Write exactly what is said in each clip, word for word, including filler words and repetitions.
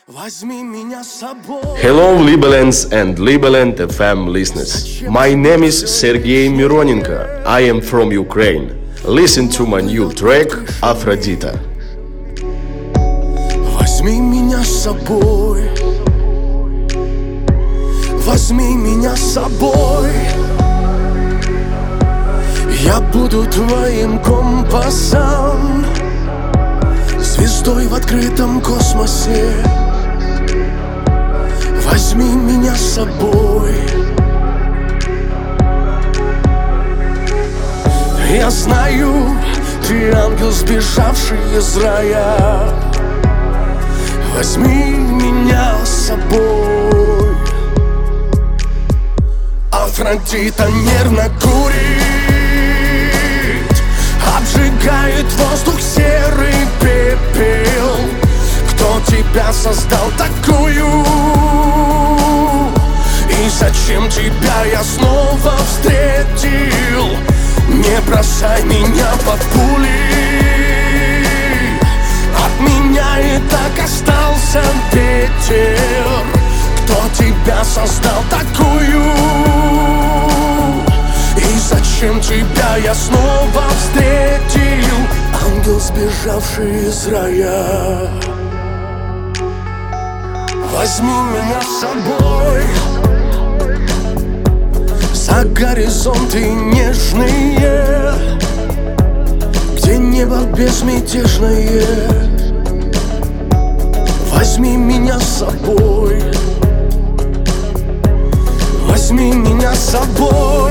Возьми меня с собой. Hello, Liberlands and Liberland эф эм listeners. My name is Sergey Mironenko. I am from Ukraine. Listen to my new track Aphrodita. Возьми меня с собой. Возьми меня с собой. Я буду твоим компасом, звездой в открытом космосе. Возьми меня с собой. Я знаю, ты ангел, сбежавший из рая. Возьми меня с собой. Афродита нервно курит, обжигает воздух серый пепел. Кто тебя создал такую? И зачем тебя я снова встретил? Не бросай меня под пули. От меня и так остался ветер. Кто тебя создал такую? И зачем тебя я снова встретил? Ангел, сбежавший из рая. Возьми меня с собой за горизонты нежные, где небо безмятежное. Возьми меня с собой. Возьми меня с собой.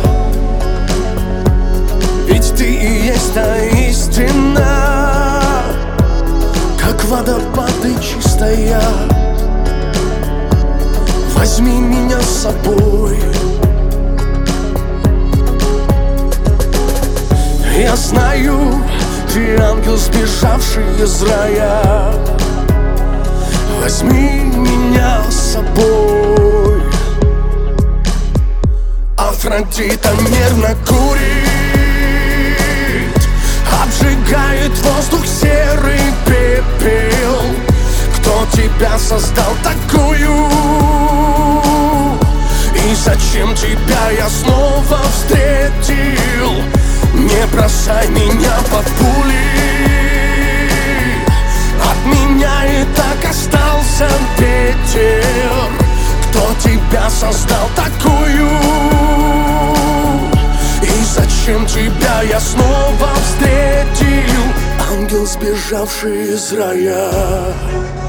Ведь ты и есть та истина, как водопады чистая. Возьми меня с собой. Я знаю, ты ангел, сбежавший из рая. Возьми меня с собой. Афродита нервно курит, обжигает воздух серый пепел. Кто тебя создал такую? И зачем тебя я снова встретил? Не бросай меня под пули. От меня и так остался ветер. Кто тебя создал такую? И зачем тебя я снова встретил? Ангел, сбежавший из рая.